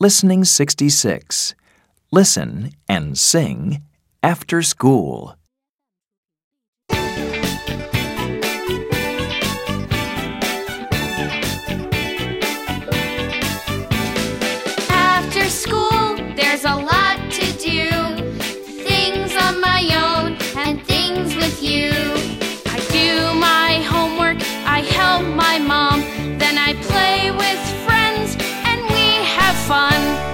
Listening 66. Listen and sing after school. After school, there's a lot to do. Things on my own and things with you. I do my homework, I help my mom, then I play with friends and we have fun.